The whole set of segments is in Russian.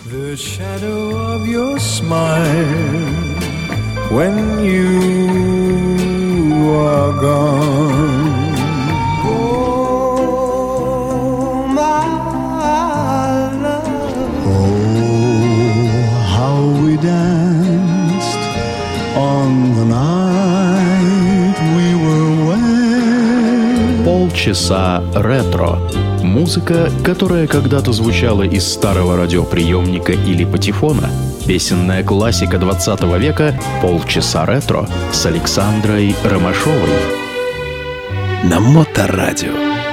The shadow of your smile when you are gone. Oh, my love. Oh, how we danced on the night we were wed. Полчаса ретро. Музыка, которая когда-то звучала из старого радиоприемника или патефона. Песенная классика 20 века «Полчаса ретро» с Александрой Ромашовой. На Моторадио.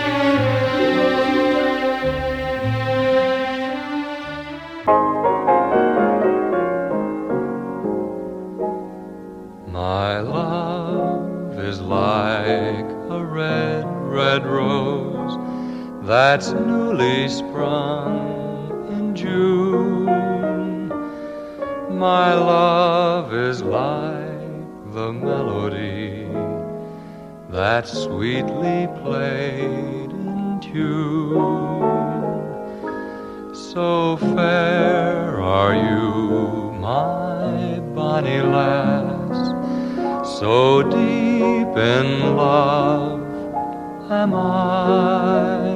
My love is like a red, red rose that's newly sprung in June. My love is like the melody that's sweetly played in tune. So fair are you, my bonny lass, so deep in love am I,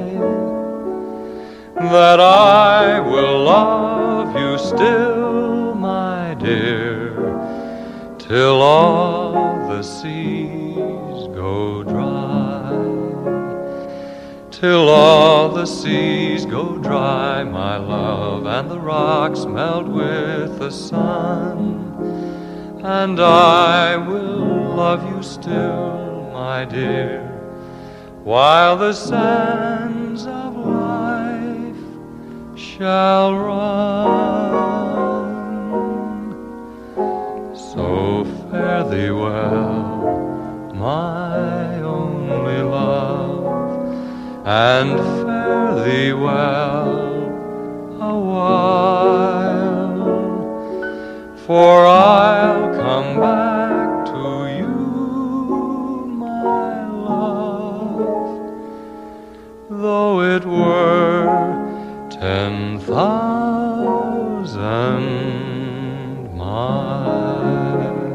that I will love you still, my dear, till all the seas go dry. Till all the seas go dry, my love, and the rocks melt with the sun, and I will love you still, my dear, while the sands of life shall run. So fare thee well, my only love, and fare thee well a while, for I'll come back to you, my love, though it were 10,000 miles.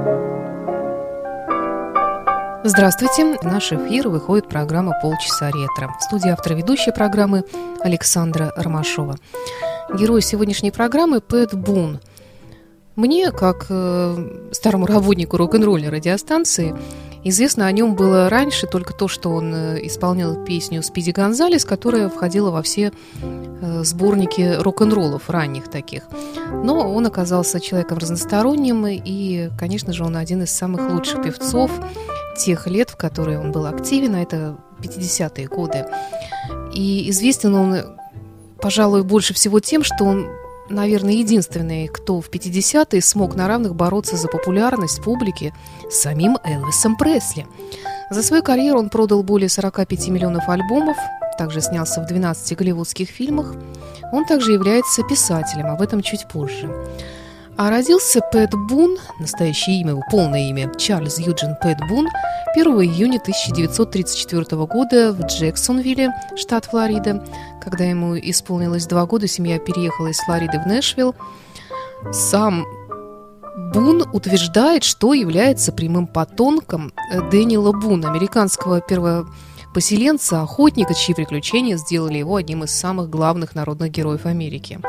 Здравствуйте! В наш эфир выходит программа «Полчаса ретро». В студии автор ведущей программы Александра Ромашова. Герой сегодняшней программы Пэт Бун. Мне, как старому работнику рок-н-ролльной радиостанции, известно о нем было раньше только то, что он исполнял песню «Спиди Гонзалес», которая входила во все сборники рок-н-роллов, ранних таких. Но он оказался человеком разносторонним, и, конечно же, он один из самых лучших певцов тех лет, в которые он был активен, а это 50-е годы. И известен он, пожалуй, больше всего тем, что он, наверное, единственный, кто в 50-е смог на равных бороться за популярность публики с самим Элвисом Пресли. За свою карьеру он продал более 45 миллионов альбомов, также снялся в 12 голливудских фильмах. Он также является писателем, об этом чуть позже. А родился Пэт Бун, настоящее имя его, полное имя Чарльз Юджин Пэт Бун, 1 июня 1934 года в Джексонвилле, штат Флорида. Когда ему исполнилось 2 года, семья переехала из Флориды в Нэшвилл. Сам Бун утверждает, что является прямым потомком Дэниела Буна, американского первопоселенца, охотника, чьи приключения сделали его одним из самых главных народных героев Америки.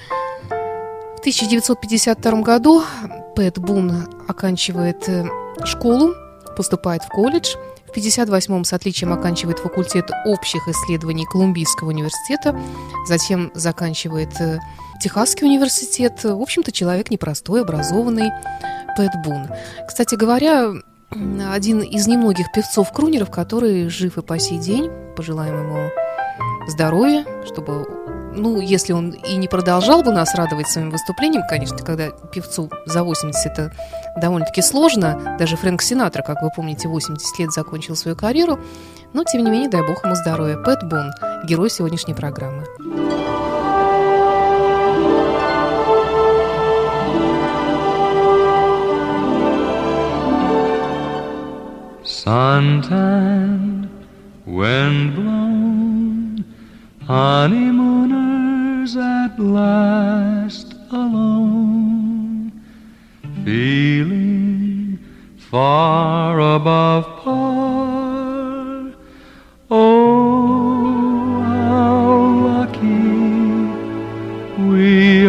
В 1952 году Пэт Бун оканчивает школу, поступает в колледж. В 1958 с отличием оканчивает факультет общих исследований Колумбийского университета. Затем заканчивает Техасский университет. В общем-то, человек непростой, образованный Пэт Бун. Кстати говоря, один из немногих певцов-крунеров, который жив и по сей день. Пожелаем ему здоровья, чтобы... если он и не продолжал бы нас радовать своим выступлением, конечно, когда певцу за 80 это довольно-таки сложно, даже Фрэнк Синатра, как вы помните, 80 лет закончил свою карьеру, но, тем не менее, дай бог ему здоровья. Пэт Бун, герой сегодняшней программы. Suntan, wind blown, honeymooners at at last alone, feeling far above par. Oh, how lucky we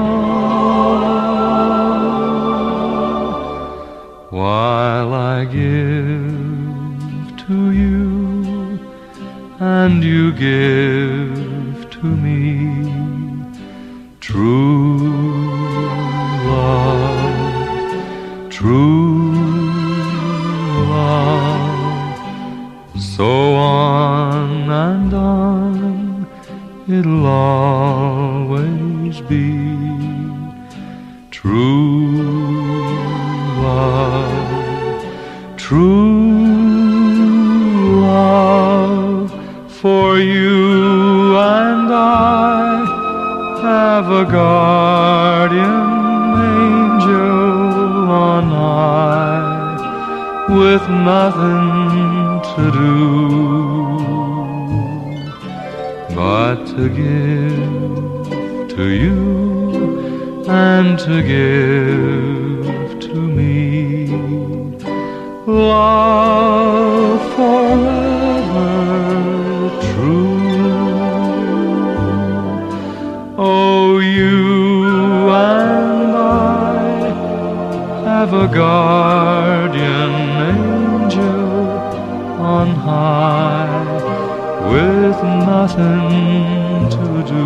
are, while I give to you and you give to me true love, true love. So on and on it'll always be true love, true love. For you and I have a guardian angel on high, with nothing to do but to give to you and to give to me love forever true. Oh, you and I have a guardian angel on high, with nothing to do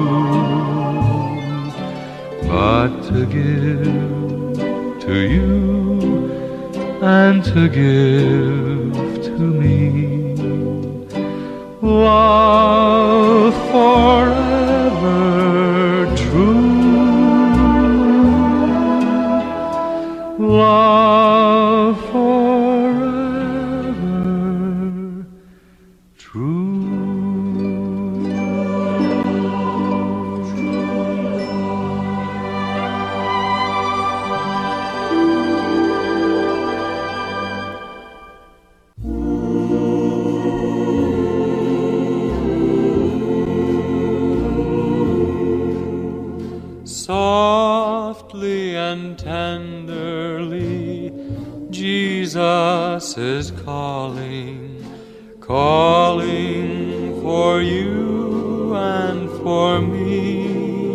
but to give to you and to give to me love forever true, love forever true. Softly and tenderly, Jesus is calling, calling for you and for me.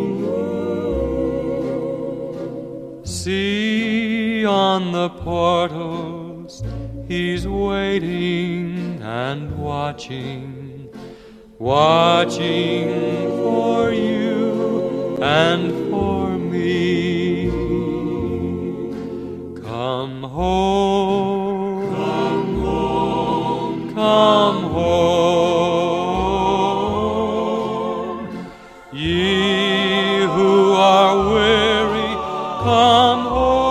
See on the portals, He's waiting and watching, watching for you and for me. Come home, come home, come home. Ye who are weary, come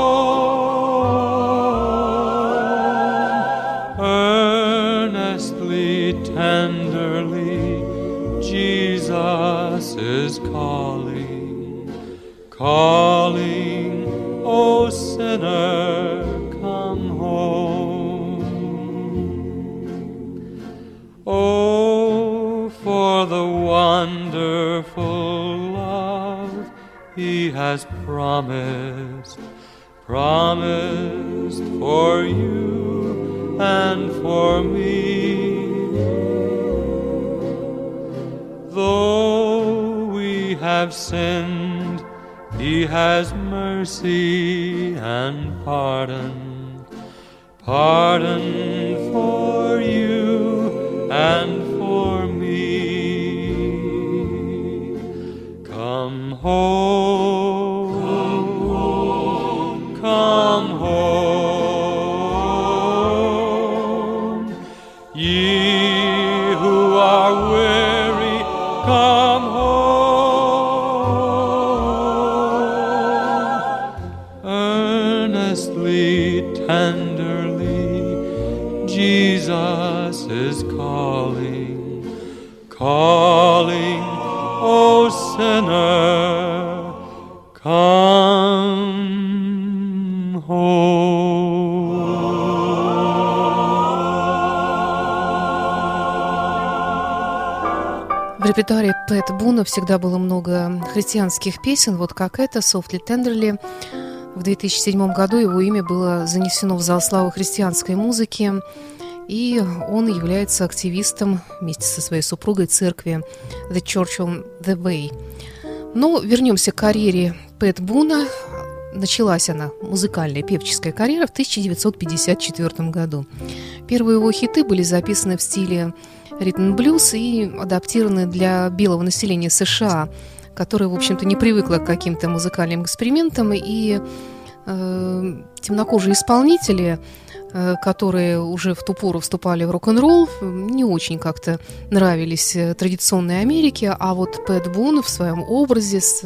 home. Earnestly, tenderly, Jesus is calling, calling, O sinner, come home. Oh, for the wonderful love He has promised, promised for you and for me. Though we have sinned, He has mercy and pardon, pardon for you and for me. Come home, come home. Ye who are weary, come home. Earnestly, tenderly, Jesus is calling, calling, O sinner, come home. В репертуаре Пэта Буна всегда было много христианских песен, вот как это «Softly Tenderly». В 2007 году его имя было занесено в зал славы христианской музыки, и он является активистом вместе со своей супругой церкви The Church on the Way. Но вернемся к карьере Пэта Буна. Началась она, музыкальная певческая карьера, в 1954 году. Первые его хиты были записаны в стиле ритм-блюз и адаптированы для белого населения США, которое, в общем-то, не привыкло к каким-то музыкальным экспериментам, и темнокожие исполнители, которые уже в ту пору вступали в рок-н-ролл, не очень как-то нравились традиционной Америке, а вот Пэт Бун в своем образе с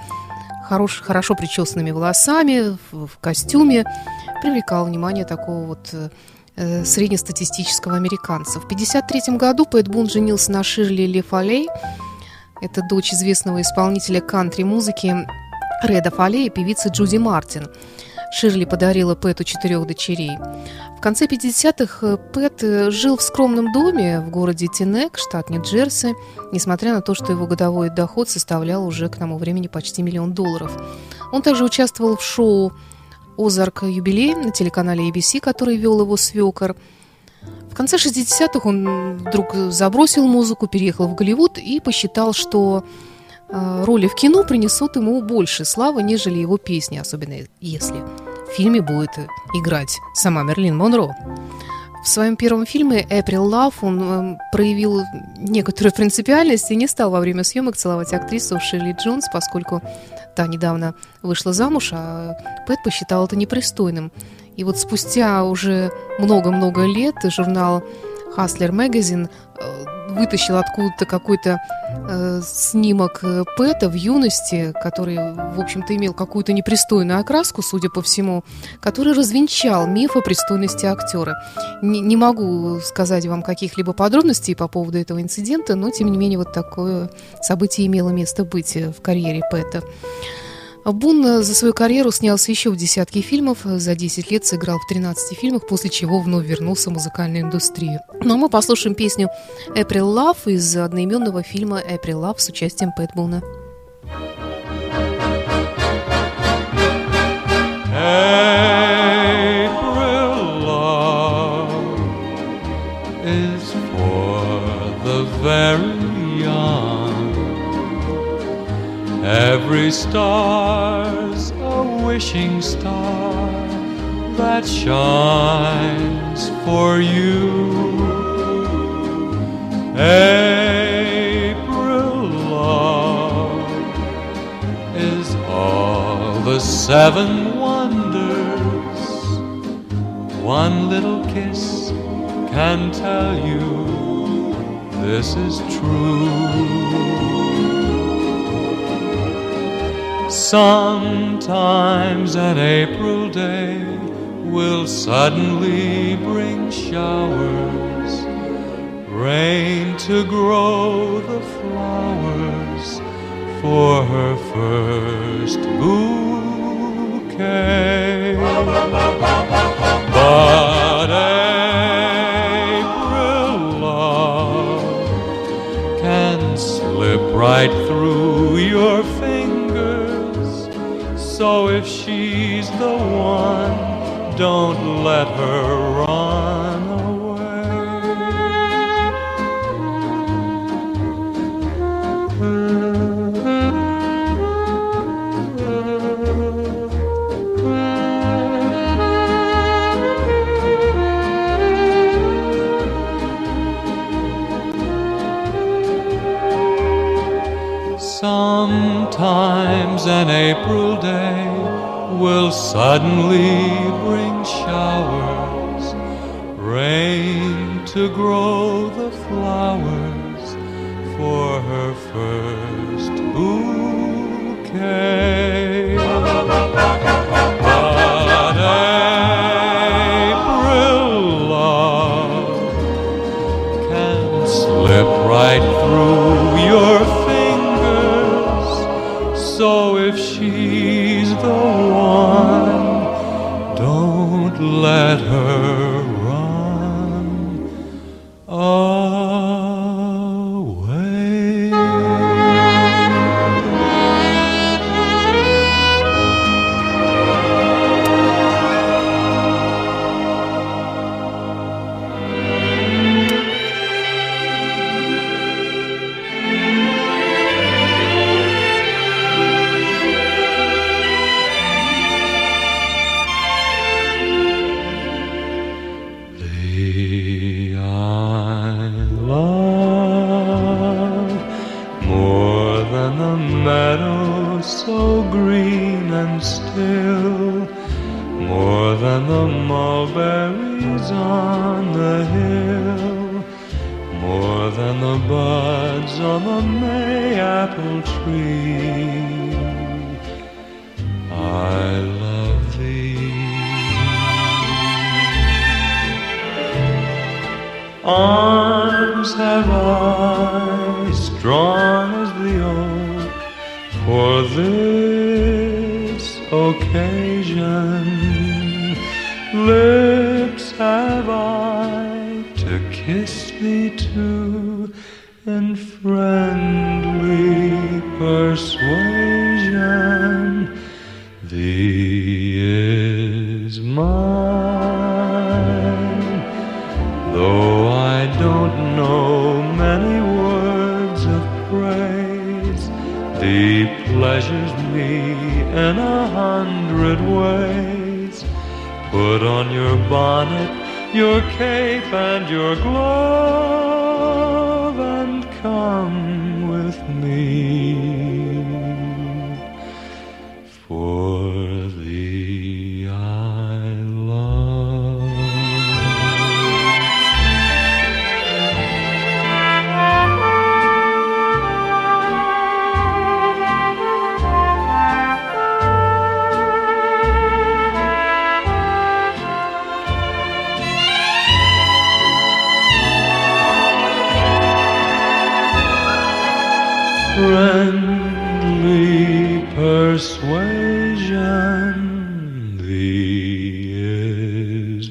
хорошо причесанными волосами, в костюме привлекал внимание такого вот среднестатистического американца. В 1953 году Пэт Бун женился на Ширли Ли Фолей. Это дочь известного исполнителя кантри-музыки Реда Фолей и певицы Джуди Мартин. Ширли подарила Пэту 4 дочерей. В конце 50-х Пэт жил в скромном доме в городе Тенек, штат Нью-Джерси, несмотря на то, что его годовой доход составлял уже к тому времени почти $1 миллион. Он также участвовал в шоу «Озарк Юбилей» на телеканале ABC, который вел его свекор. В конце 60-х он вдруг забросил музыку, переехал в Голливуд и посчитал, что роли в кино принесут ему больше славы, нежели его песни, особенно если в фильме будет играть сама Мерлин Монро. В своем первом фильме «April Love» он проявил некоторую принципиальность и не стал во время съемок целовать актрису Ширли Джонс, поскольку та недавно вышла замуж, а Пэт посчитал это непристойным. И вот спустя уже много-много лет журнал Hustler Magazine вытащил откуда-то какой-то снимок Пэта в юности, который, в общем-то, имел какую-то непристойную окраску, судя по всему, который развенчал миф о пристойности актера. Не могу сказать вам каких-либо подробностей по поводу этого инцидента, но, тем не менее, вот такое событие имело место быть в карьере Пэта. Бун за свою карьеру снялся еще в десятки фильмов, за 10 лет сыграл в 13 фильмах, после чего вновь вернулся в музыкальную индустрию. Ну а мы послушаем песню «April Love» из одноименного фильма «April Love» с участием Пэта Буна. April love is for the very young. Every star's a wishing star that shines for you. April love is all the 7 wonders. One little kiss can tell you this is true. Sometimes an April day will suddenly bring showers, rain to grow the flowers for her first bouquet. But April love can slip right through your fingers, so if she's the one, don't let her run away. Sometimes an April day will suddenly bring showers, rain to grow the flowers for her first bouquet. But April love can slip right through your fingers, so if she's the one, don't let her run away. meadow so green and still, more than the mulberries on the hill, more than the buds on the May-apple tree. I love thee. Arms have I, strong as the oak, for this occasion. Lips have I to kiss thee too, in friendly persuasion. Thee is mine, though I don't know many words of praise. Thee pleasures me in 100 ways. Put on your bonnet, your cape, and your glove, and come with me. For thee I love. Friendly persuasion, thee is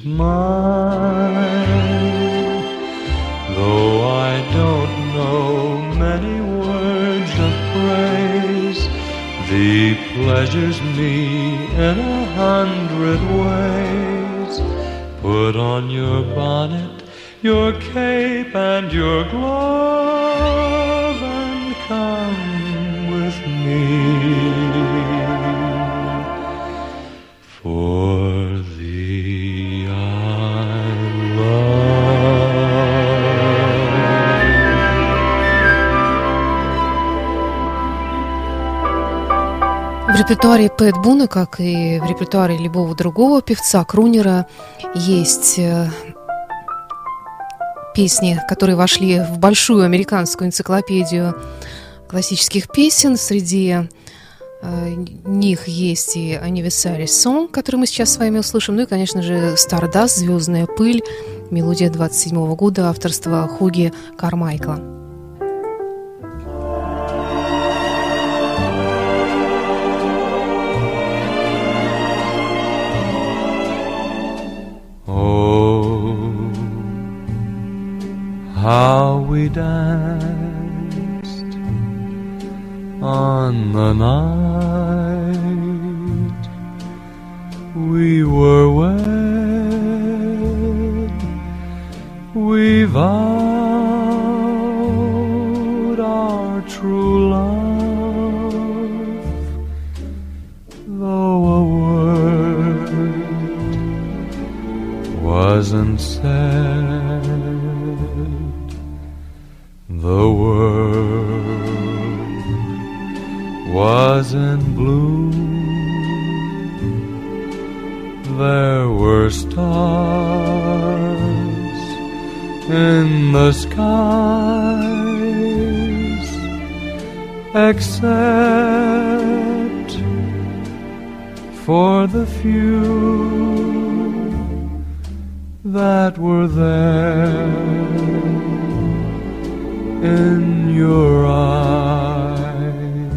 mine, though I don't know many words of praise. Thee pleasures me in 100 ways. Put on your bonnet, your cape, and your glove, and come with me. For thee I В репертуаре Пэт Буна, как и в репертуаре любого другого певца, крунера, есть песни, которые вошли в большую американскую энциклопедию классических песен. Среди них есть и Anniversary Song, который мы сейчас с вами услышим, ну и, конечно же, Stardust, «Звездная пыль», мелодия 27 года, авторства Хуги Кармайкла. How we danced on the night we were wed. We vowed our true love, though a word wasn't said. The world was in blue. There were stars in the skies, except for the few that were there in your eyes.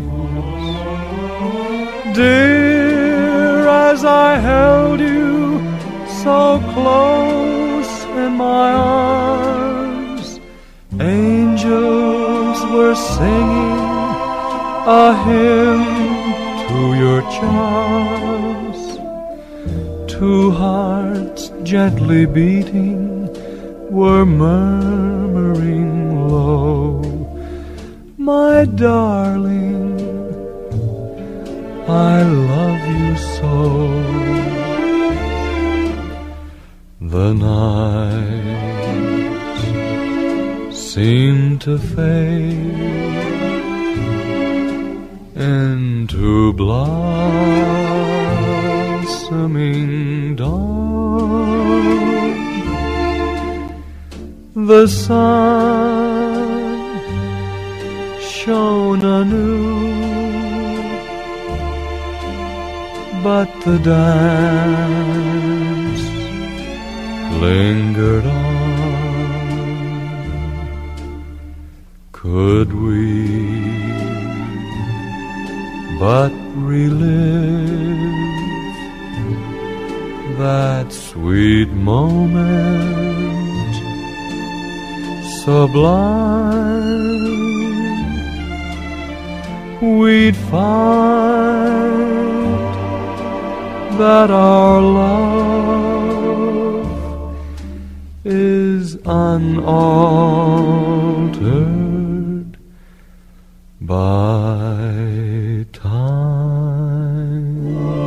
Dear, as I held you so close in my arms, angels were singing a hymn to your charms. Two hearts gently beating were murmuring low, my darling, I love you so. The nights seem to fade to blossoming dawn. The sun shone anew, but the dance lingered on. Could we but relive that sweet moment sublime, we'd find that our love is unaltered by time.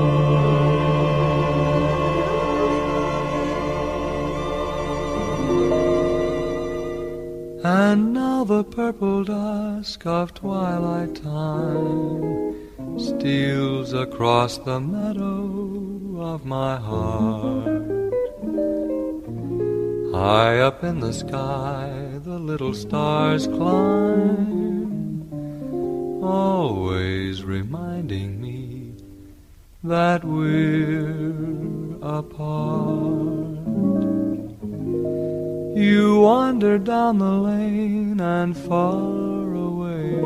And now the purple dusk of twilight time steals across the meadow of my heart. High up in the sky the little stars climb, always reminding me that we're apart. You wandered down the lane and far away,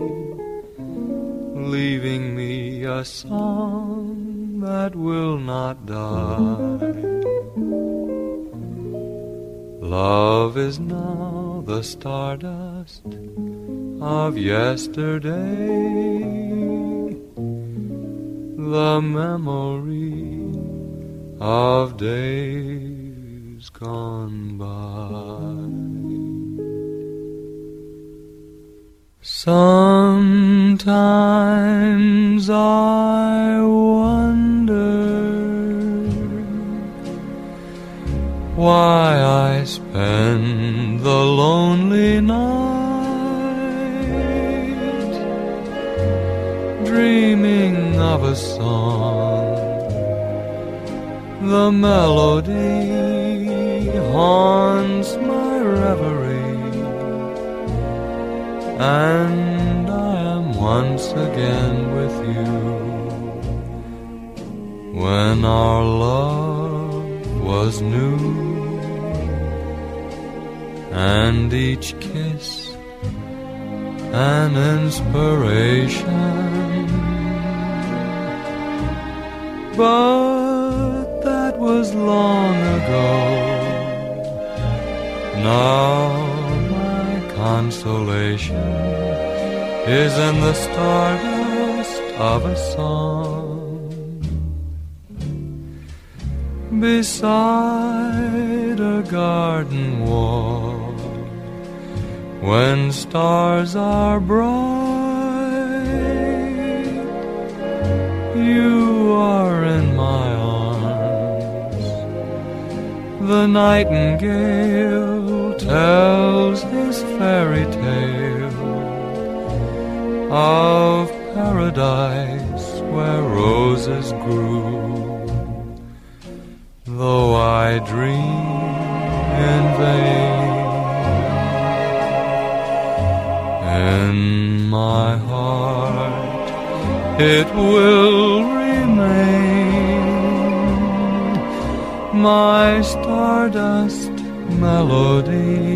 leaving me a song that will not die. Love is now the stardust of yesterday, the memory of days gone by. Sometimes I wonder why I spend the lonely night dreaming of a song. The melody haunts my reverie, and I am once again with you. When our love was new, and each kiss an inspiration, but that was long ago. Now my consolation is in the stardust of a song beside a garden wall. When stars are bright, you are in my arms. The nightingale tells his fairy tale of paradise where roses grew. Though I dream in vain, in my heart it will remain, my stardust melody,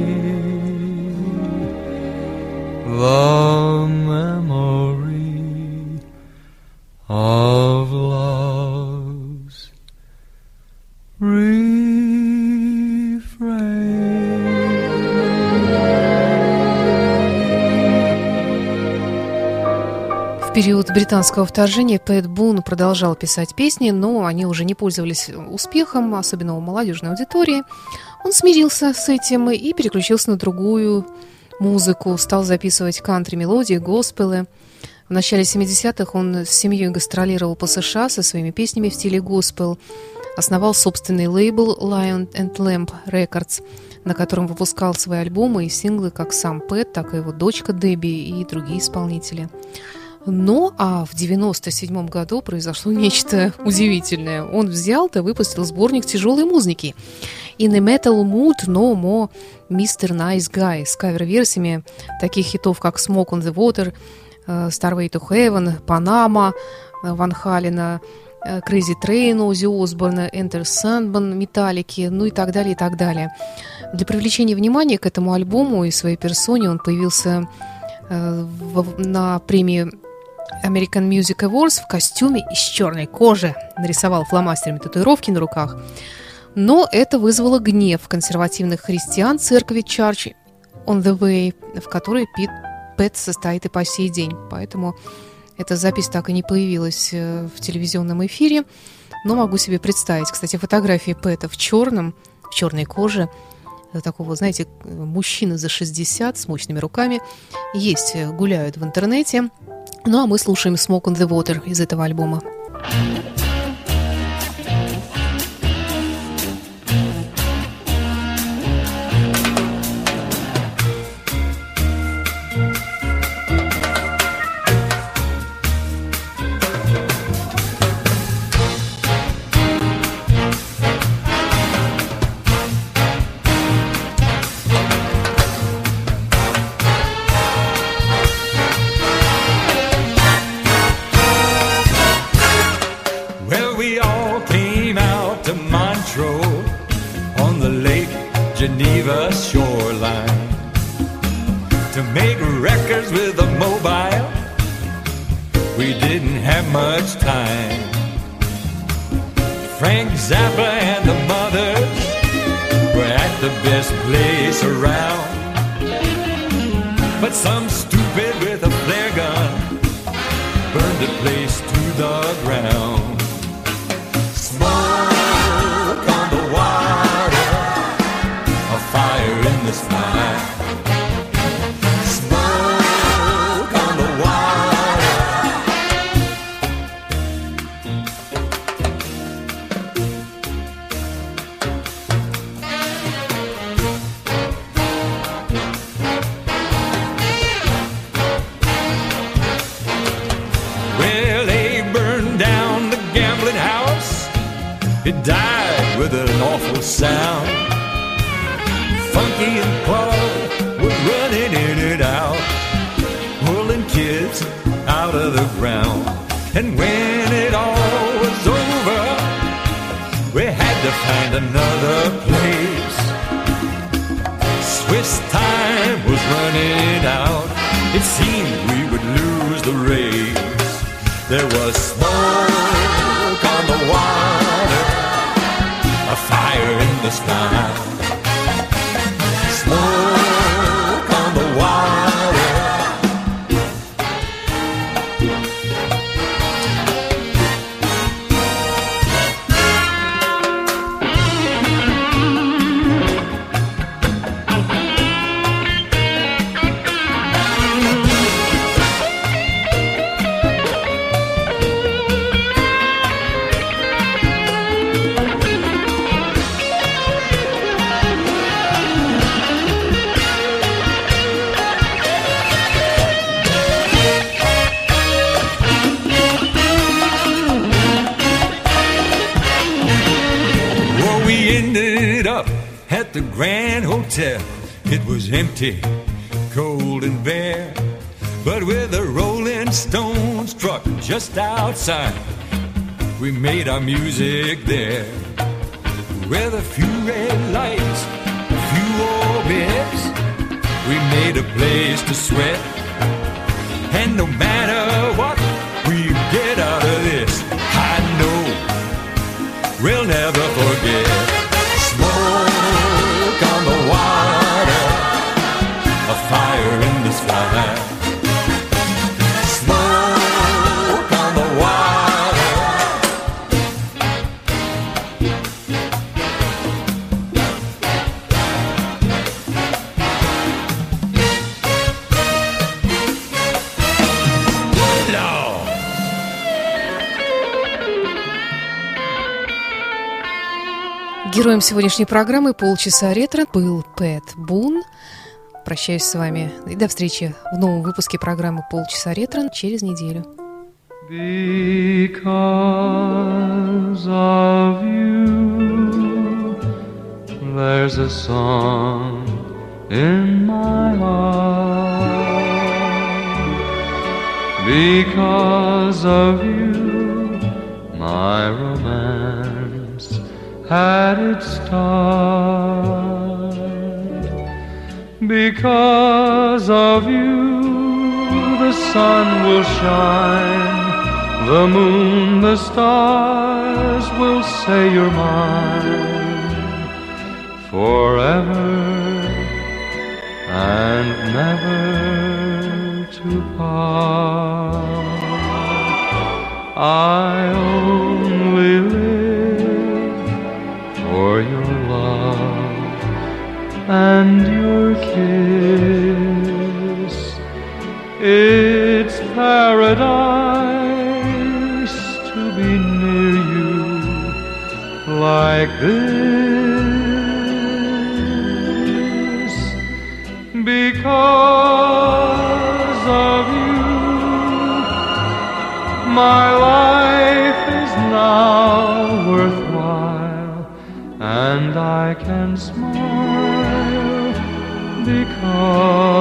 the memory of love's refrain. В период британского вторжения Пэт Бун продолжал писать песни, но они уже не пользовались успехом, особенно у молодежной аудитории. Он смирился с этим и переключился на другую музыку, стал записывать кантри-мелодии, госпелы. В начале 70-х он с семьей гастролировал по США со своими песнями в стиле госпел, основал собственный лейбл Lion and Lamb Records, на котором выпускал свои альбомы и синглы как сам Пэт, так и его дочка Дебби и другие исполнители. Ну, а в 1997 году произошло нечто удивительное. Он взял и выпустил сборник тяжелой музыки «In a Metal Mood No More Mr. Nice Guy» с кавер-версиями таких хитов, как «Smoke on the Water», «Starway to Heaven», «Panama» Ван Халена, «Crazy Train» Оззи Осборна, «Enter Sandman» Металлики, ну и так далее, и так далее. Для привлечения внимания к этому альбому и своей персоне он появился на премии American Music Awards в костюме из черной кожи, нарисовал фломастерами татуировки на руках. Но это вызвало гнев консервативных христиан церкви Church on the Way, в которой Пэт состоит и по сей день. Поэтому эта запись так и не появилась в телевизионном эфире. Но могу себе представить, кстати, фотографии Пэта в черной коже, такого, знаете, мужчины за 60 с мощными руками, есть, гуляют в интернете. Ну, а мы слушаем «Smoke on the Water» из этого альбома. Geneva shoreline to make records with a mobile. We didn't have much time. Frank Zappa and the Mothers were at the best place around, but some stupid with a flare gun burned the place to the ground. Smoke on the water, a fire in the sky. Smoke on the water. Well, they burned down the gambling house. It died with an awful sound. Funky and Paul were running in and out, pulling kids out of the ground. And when it all was over, we had to find another place. Swiss time was running out. It seemed we would lose the race. There was smoke on the water, a fire in the sky. Smoke on the water. At the Grand Hotel, it was empty, cold and bare, but with a Rolling Stones truck just outside, we made our music there. With a few red lights, a few old beds, we made a place to sweat. And no matter what we get out of this, I know we'll never forget. Smoke on the water, a fire in the sky. Smoke on the water. Lord. Героем сегодняшней программы «Полчаса ретро» был Пэт Бун. Прощаюсь с вами и до встречи в новом выпуске программы «Полчаса ретро» через неделю. Because of you, there's a song in my heart. Because of you, my romance had its start. Because of you, the sun will shine, the moon, the stars will say you're mine forever and never to part. I only live for your love and your kiss. It's paradise to be near you like this. Because of you, my life is now worthwhile, and I can smile because